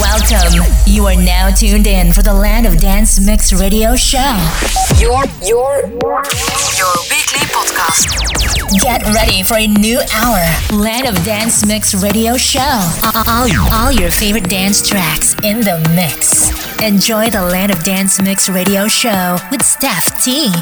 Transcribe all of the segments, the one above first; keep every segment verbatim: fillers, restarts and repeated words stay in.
Welcome. You are now tuned in for the Land of Dance Mix Radio Show. Your, your, your weekly podcast. Get ready for a new hour. Land of Dance Mix Radio Show. All, all your favorite dance tracks in the mix. Enjoy the Land of Dance Mix Radio Show with Steph T.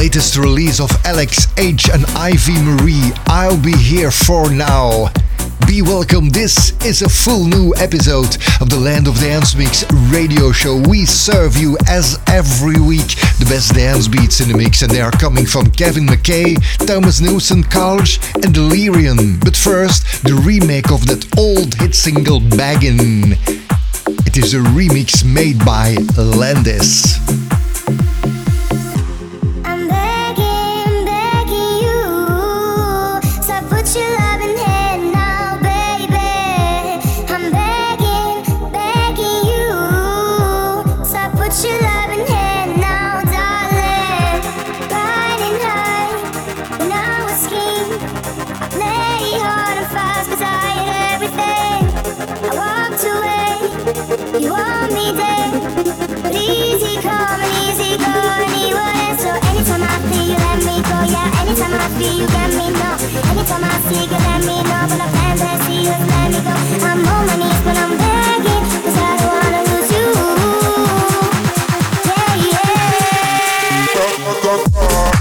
latest release of Alex H and Ivy Marie, I'll Be Here For Now. Be welcome, this is a full new episode of the Land of Dance Mix radio show. We serve you as every week the best dance beats in the mix, and they are coming from Kevin McKay, Thomas Newson, College and Delirium. But first, the remake of that old hit single Baggin'. It is a remix made by Landis. You want me dead, but easy come and easy go anyway. So anytime I feel you let me go, yeah. Anytime I feel you get me, no. Anytime I see you let me know, but I plan to see you let me go. I'm on my knees when I'm begging, 'cause I don't wanna lose you. Yeah, yeah.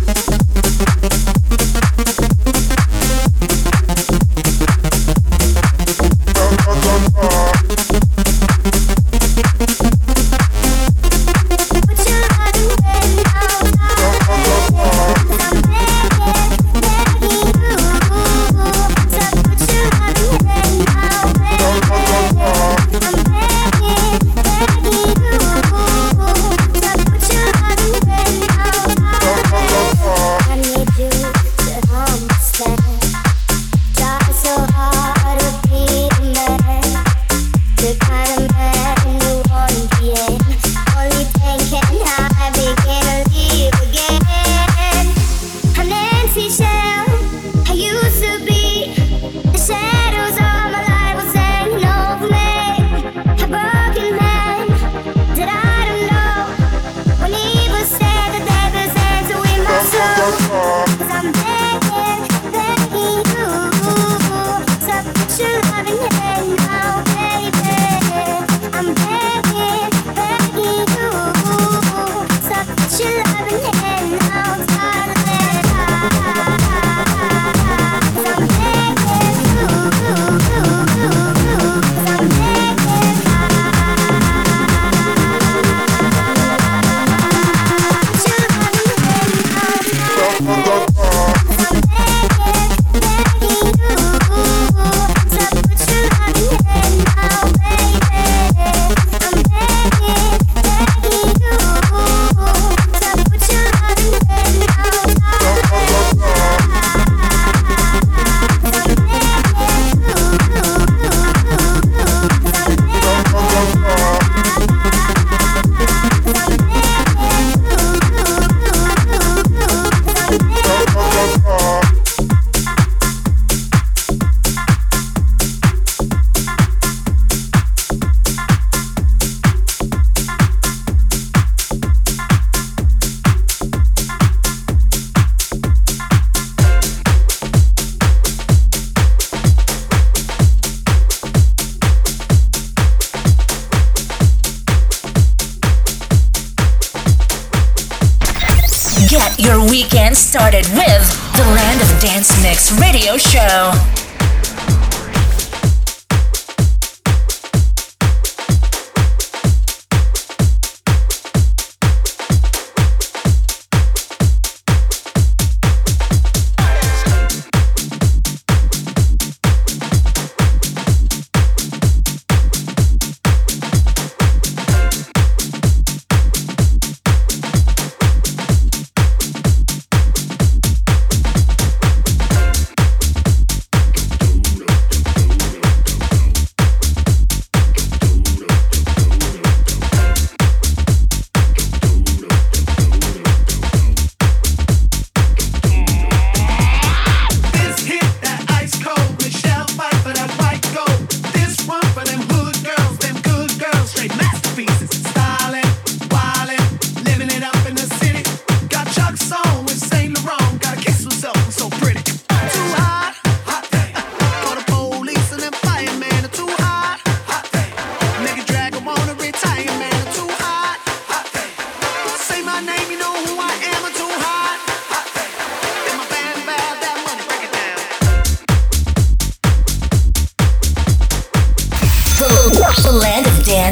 Your weekend started with the Land of Dance Mix radio show.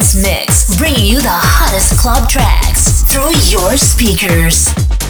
Dance Mix, bringing you the hottest club tracks through your speakers.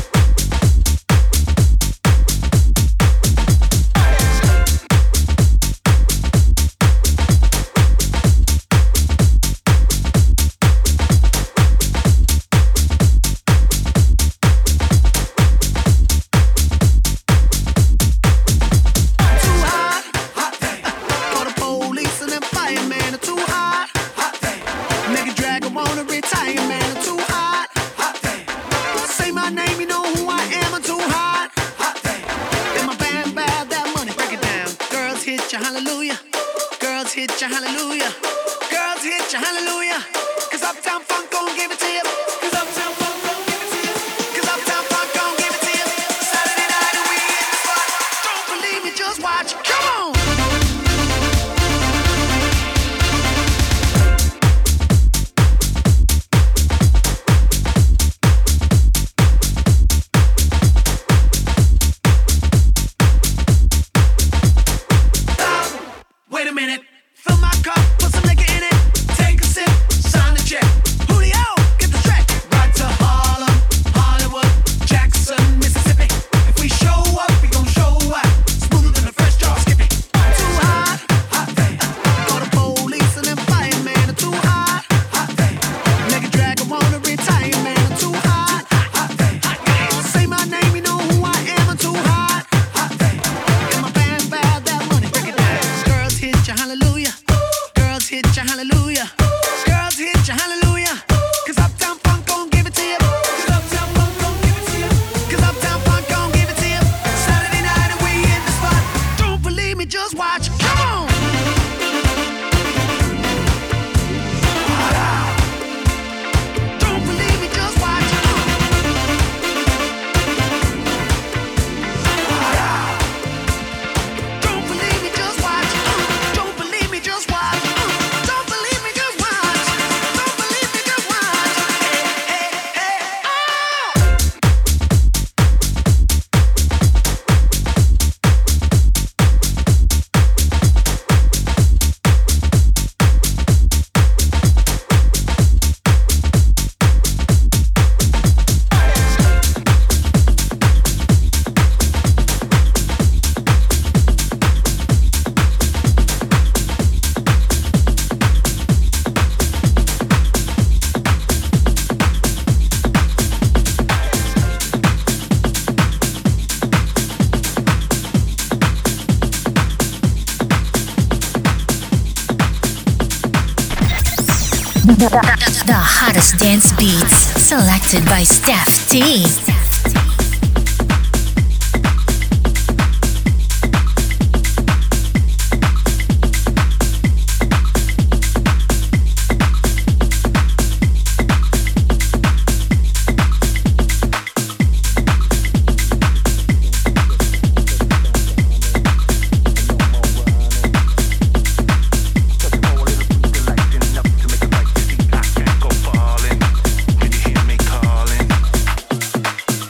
The hottest dance beats selected by Steph T. Calling.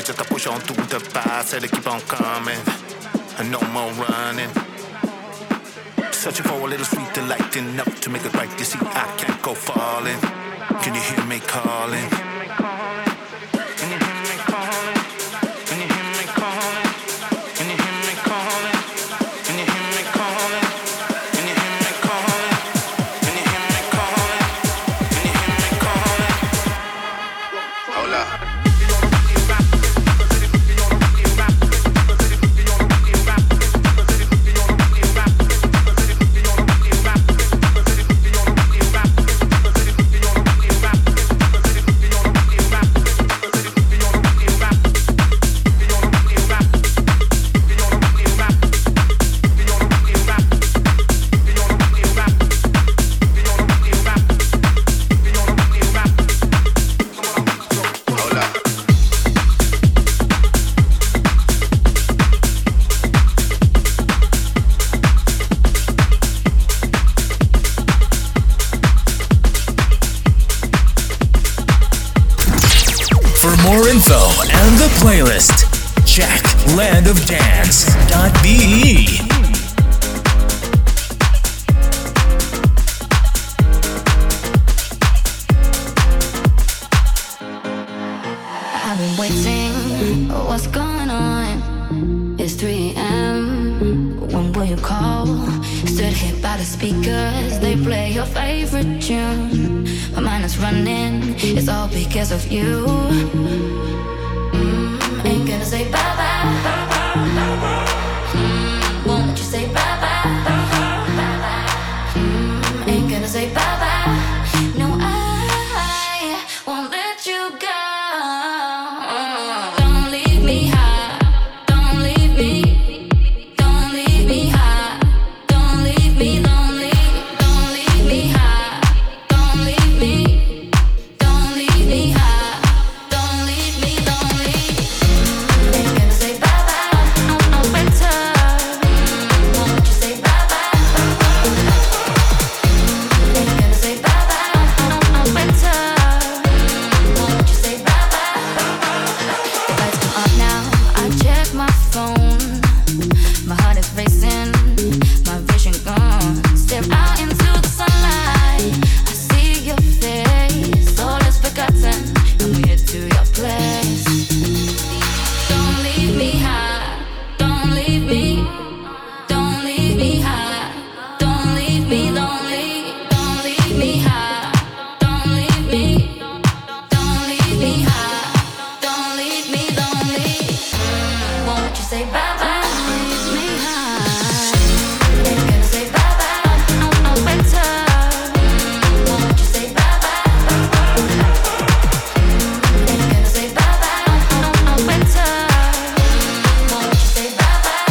just to push on through the fire. Said to keep on coming, and no more running. Searching for a little sweet delight enough to make it right. You see, I can't go falling. Can you hear me calling? Can you hear me calling? Can you hear me calling? Can you hear me calling? Can you hear me calling? Can you hear me calling? Can you hear me calling? Can you hear me calling? Hold up. Info and the playlist. Check land of dance dot b e. I've been waiting. What's going on? It's three a.m. When will you call? Stood here by the speakers. They play your favorite tune. My mind is running. It's all because of you. Mm, ain't gonna say bye bye. Mm, won't you say bye bye? Mm, ain't gonna say bye bye. No, I won't let you go. Don't leave me high. Don't leave me. Don't leave me high. Don't leave me lonely. Don't leave me high. Don't leave me. Don't leave me high. Don't leave me lonely. Ain't gonna say bye bye. I'll, I'll better. Won't you say bye bye? Ain't gonna say bye bye. I'll, I'll better. Won't you say bye bye? The lights come up now. I check my phone. My heart is racing. My vision gone. Step out into the sunlight. I see your face. All is forgotten. And we head to your place. Don't leave me high. Don't leave me. Don't leave me high. Don't leave me lonely. Don't leave me high. Don't leave me. Don't leave me high. Don't leave me lonely. Won't you say bye bye? Leave me high. Ain't gonna say bye bye. I'll, I'll better. Won't you say bye bye? Ain't gonna say bye bye. I'll, I'll better. Won't you say bye bye?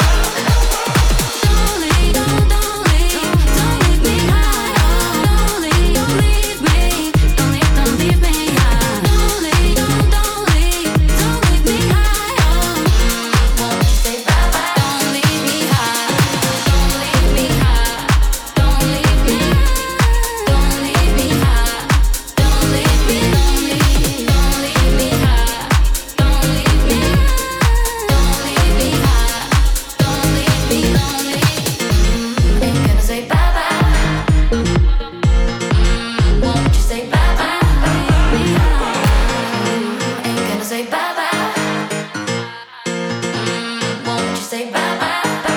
Don't leave, don't, don't leave, don't leave me high. Don't leave, don't leave me. Don't leave, don't leave me high. Don't leave, don't, don't leave, don't leave me high. Won't you say bye bye? Don't leave me high. Don't leave me high. Don't leave me. Don't leave me high. Don't leave me lonely. Don't leave me high. Don't leave me. Don't leave me high. Don't leave me lonely. Ain't gonna say bye bye. Won't you say bye bye? Ain't gonna say bye bye. Won't you say bye bye?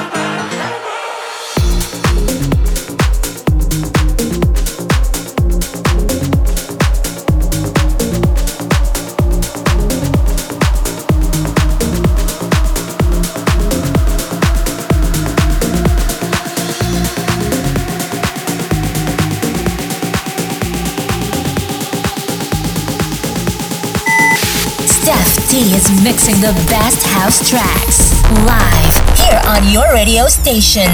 Steph T is mixing the best house tracks live here on your radio station.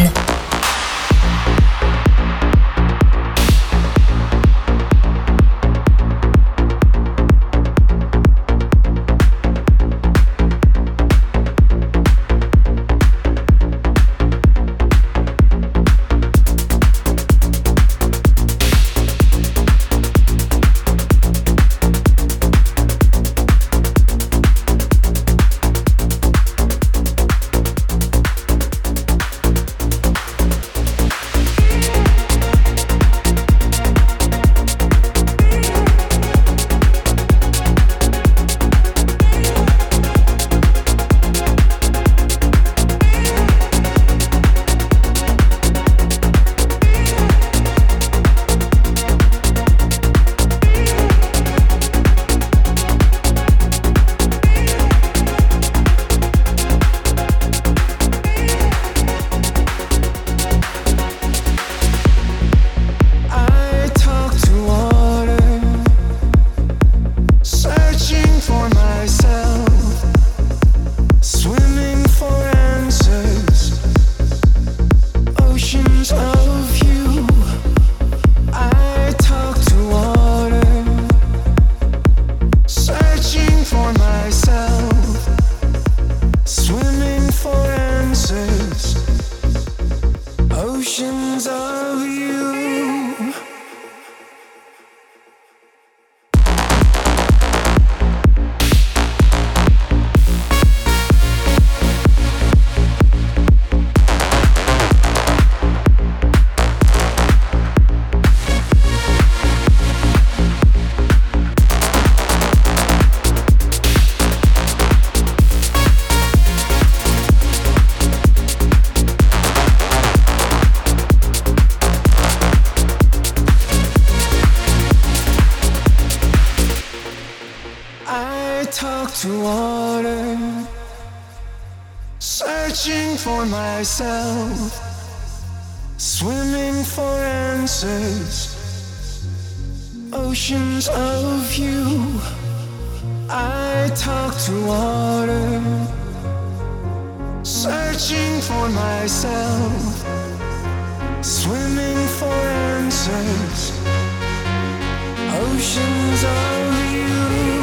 Searching for myself, swimming for answers, oceans of you. I talk to water, searching for myself, swimming for answers, oceans of you.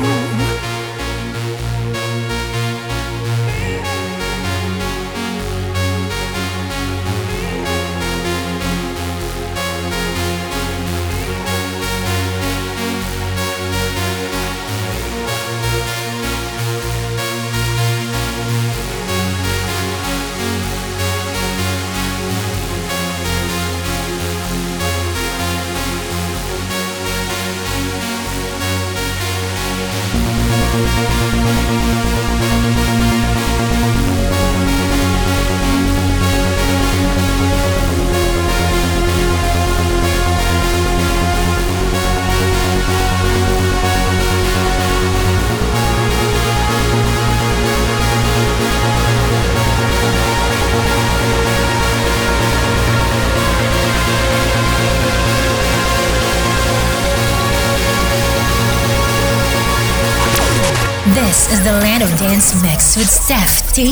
This is the Land of Dance Mix with Steph T.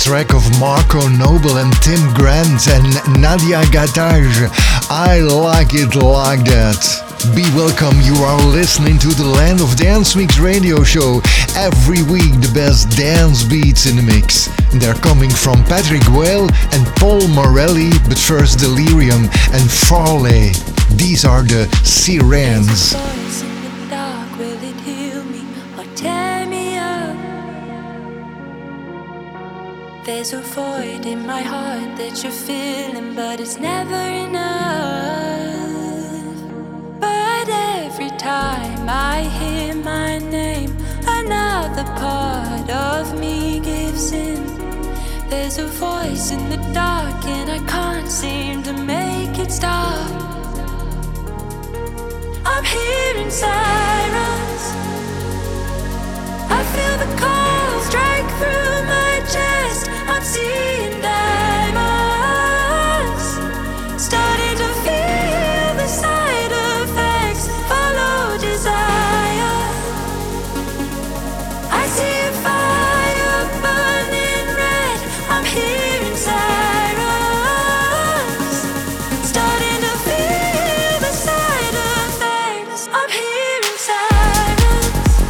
track of Marco Noble and Tim Grant and Nadia Gatage. I like it like that. Be welcome, you are listening to the Land of Dance Mix radio show. Every week the best dance beats in the mix. They're coming from Patrick Whale and Paul Morelli, but first Delirium and Farley. These are the Sirens. There's a void in my heart that you're feeling, but it's never enough. But every time I hear my name, another part of me gives in. There's a voice in the dark and I can't seem to make it stop. I'm hearing sirens, I feel the cold strike through my chest. I'm seeing diamonds, starting to feel the side effects. Follow desire, I see a fire burning red. I'm hearing sirens, starting to feel the side effects. I'm hearing sirens.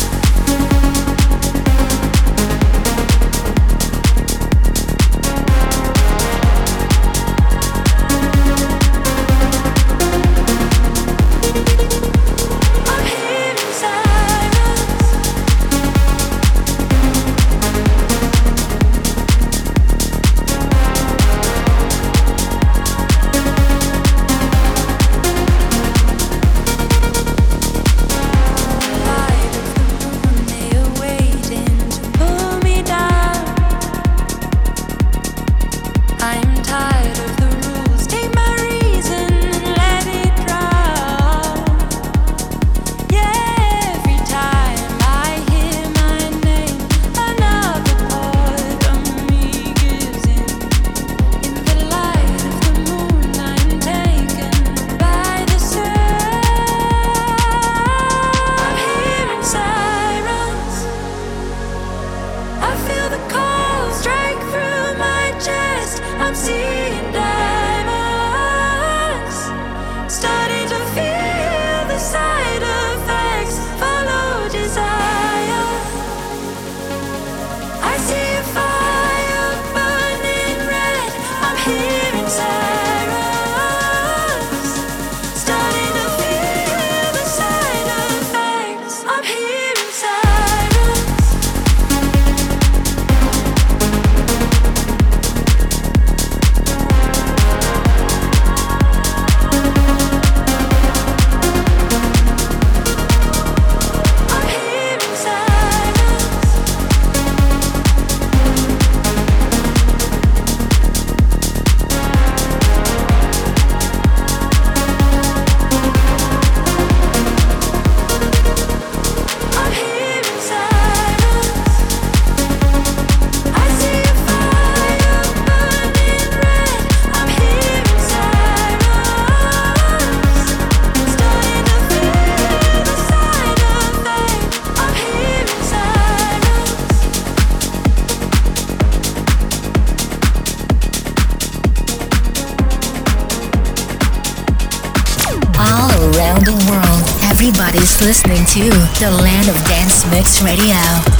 Everybody's listening to the Land of Dance Mix Radio.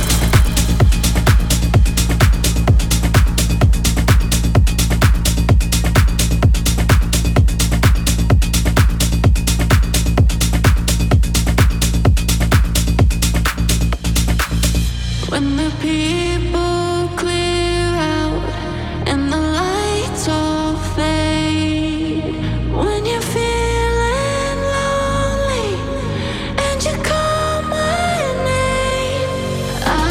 When the people clear out and the lights all fade, when you're feeling lonely and you call my name, I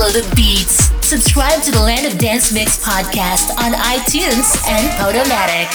Follow the beats. Subscribe to the Land of Dance Mix podcast on iTunes and Podomatic.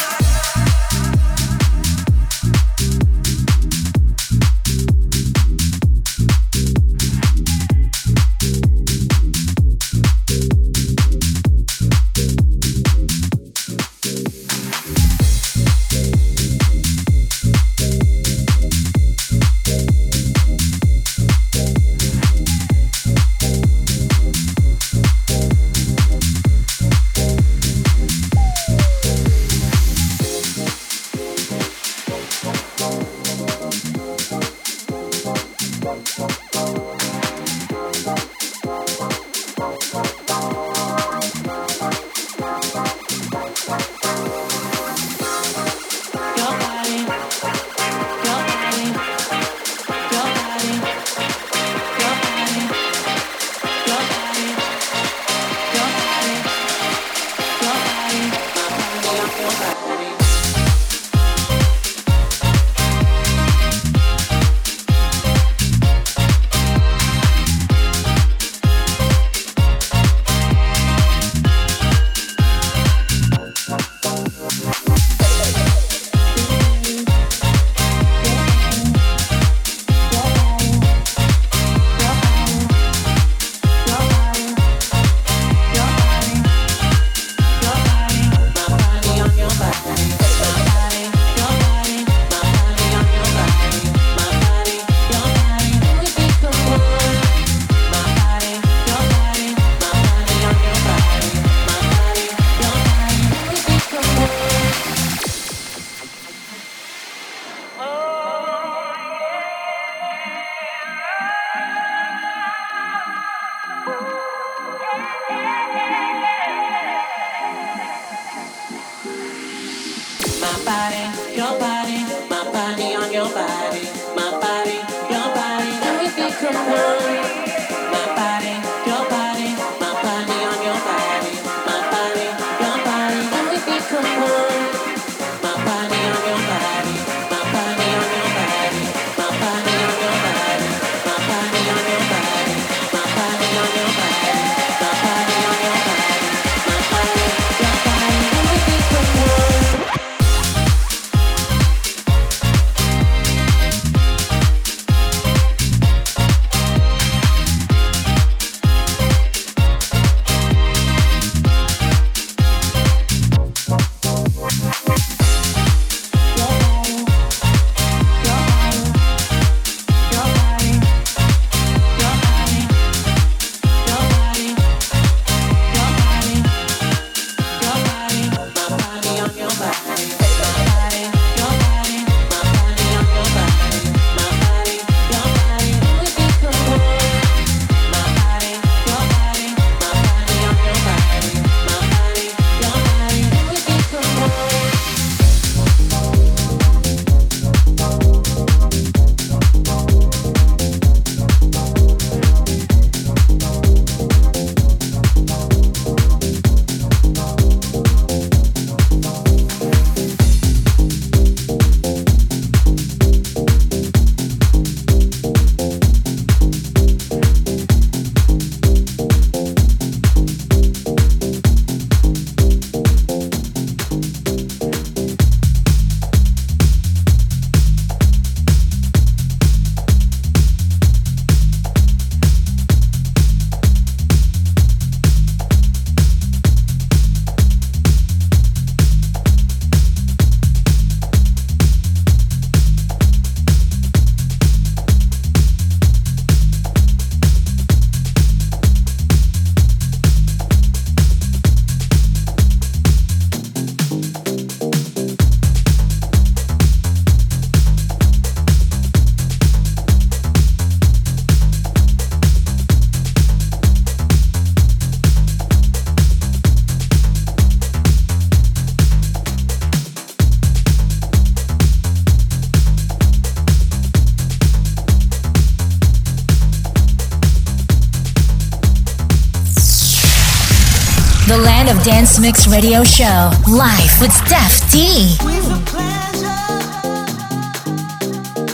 The Land of Dance Mix Radio Show, live with Steph T.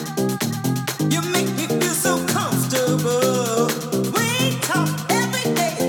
You make me feel so comfortable. We talk every day.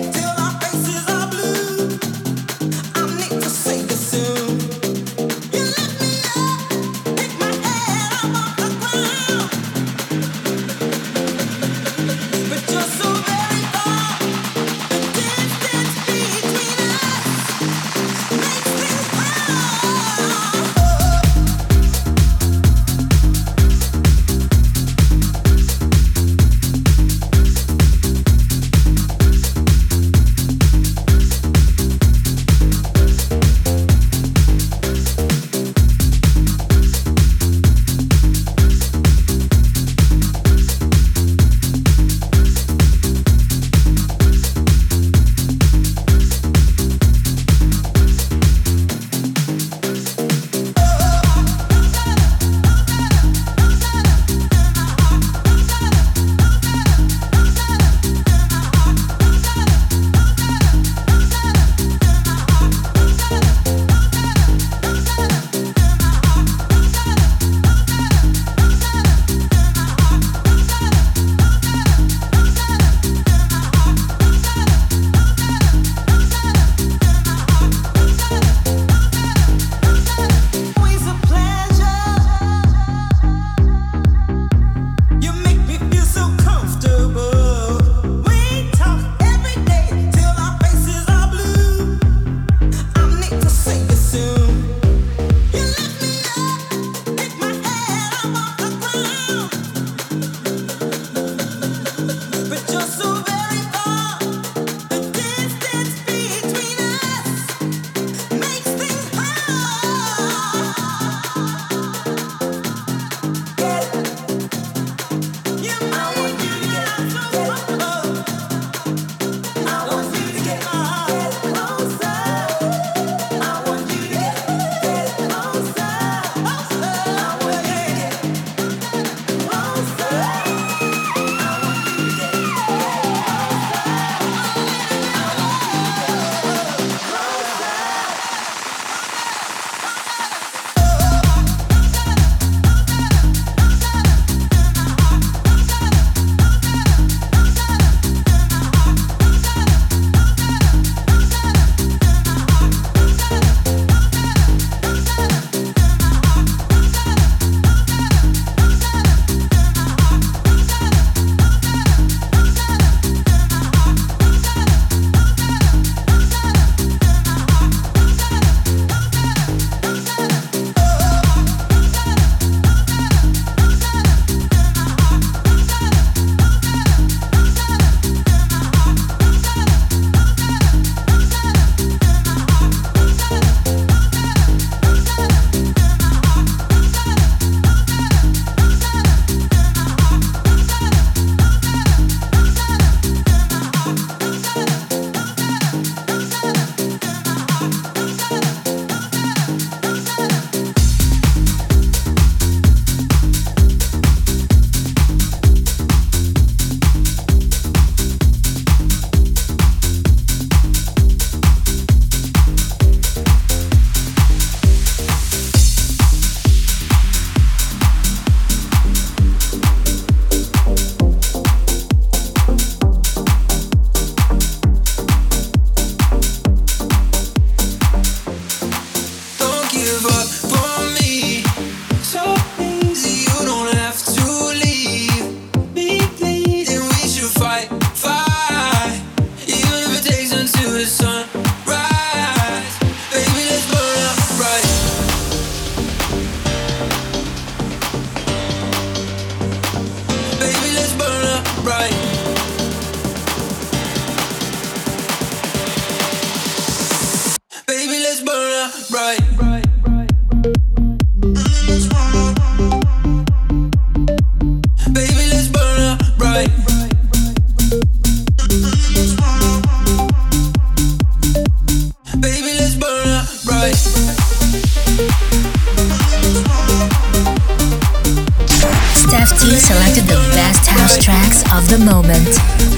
T selected the best house tracks of the moment.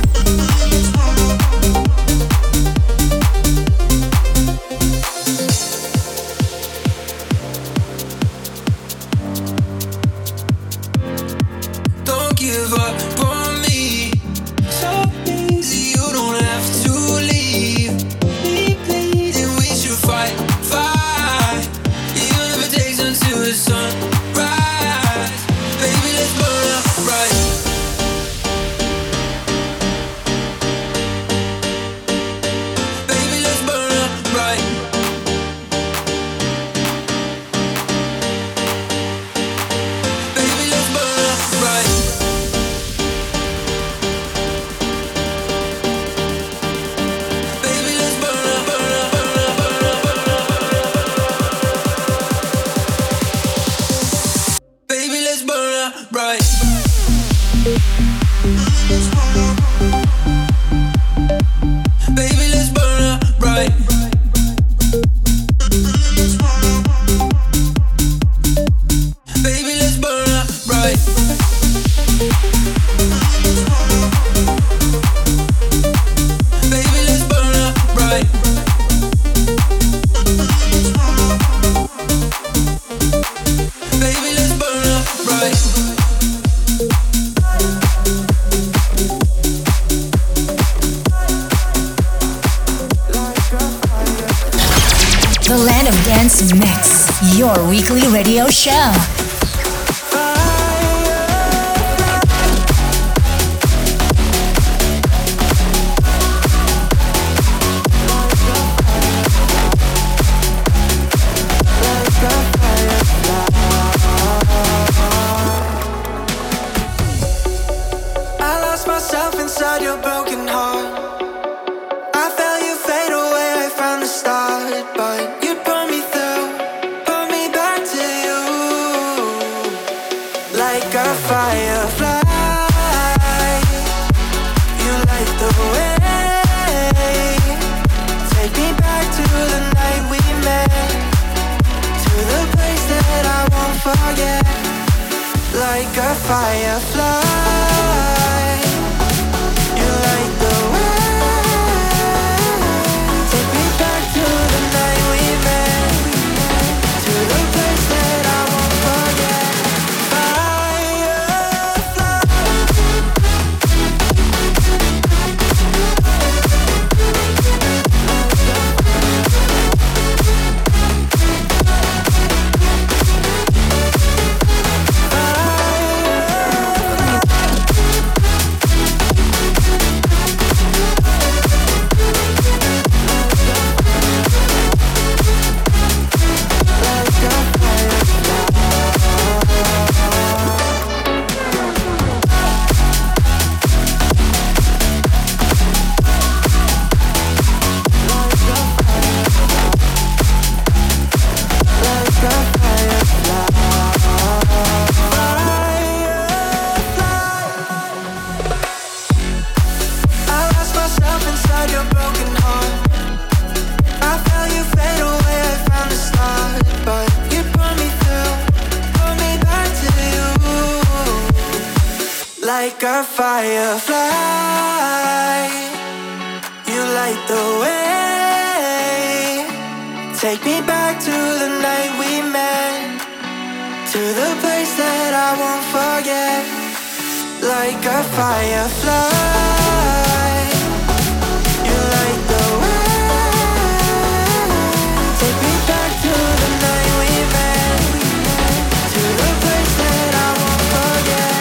Don't give up on me. So easy, you don't have to leave. Be bleeding, we should fight, fight. Even if it takes until the sun rise. Baby, let's burn up right. Baby, let's burn up right. Baby, let's burn up right. Baby, let's burn up, burn up, burn up, burn up, burn up. Baby, let's burn up right. Baby, let's burn up right. Baby, let's burn up right. Baby, let's burn up right. Baby, let's burn up right. The Land of Dance Mix, your weekly radio show. I lost myself inside your broken heart. I felt you fade away from the start, but you pulled me through, pulled me back to you, like a firefly. You light the way, take me back to the night we met, to the place that I won't forget, like a firefly. You light the way, take me back to the night we met, to the place that I won't forget. Like a firefly, you light the way, take me back to the night we met, to the place that I won't forget. Like a firefly, you light the way, take me back to the night we met, to the place that I won't forget.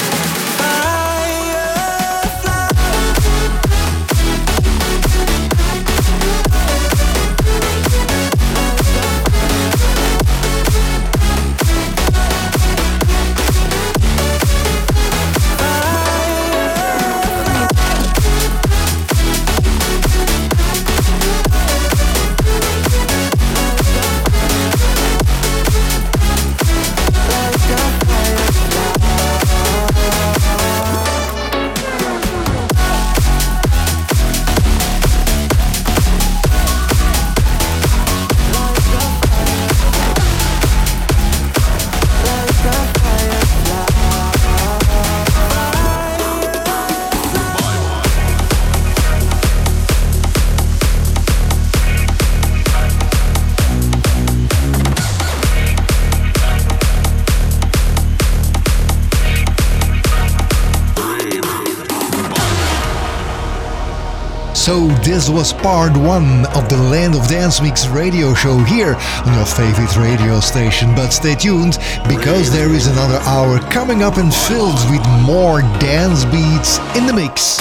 So this was part one of the Land of Dance Mix radio show here on your favorite radio station. But stay tuned, because there is another hour coming up and filled with more dance beats in the mix.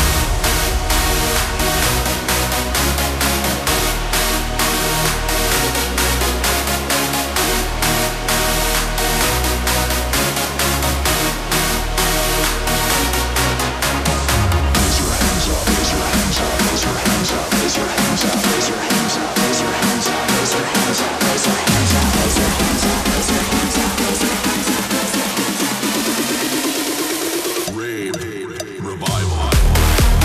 Revival.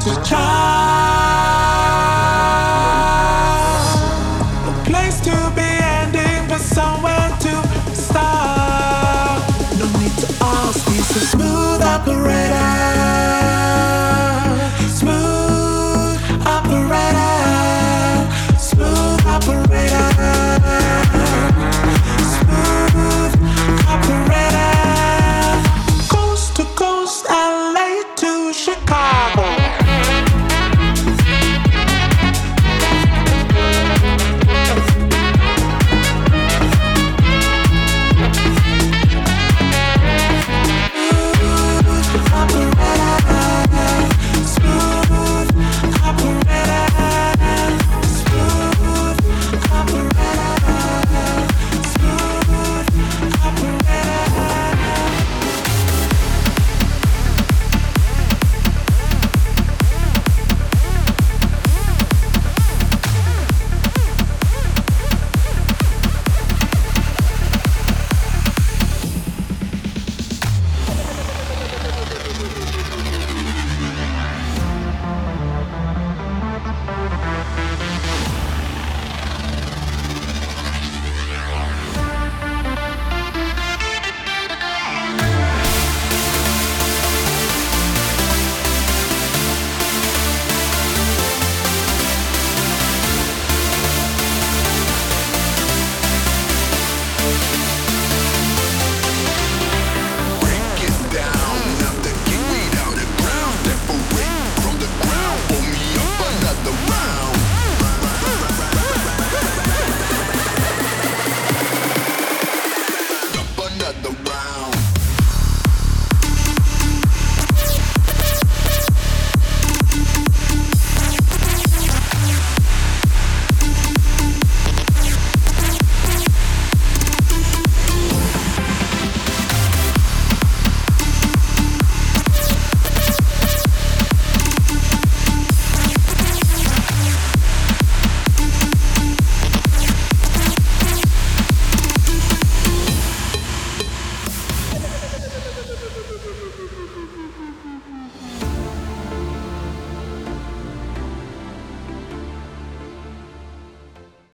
to try.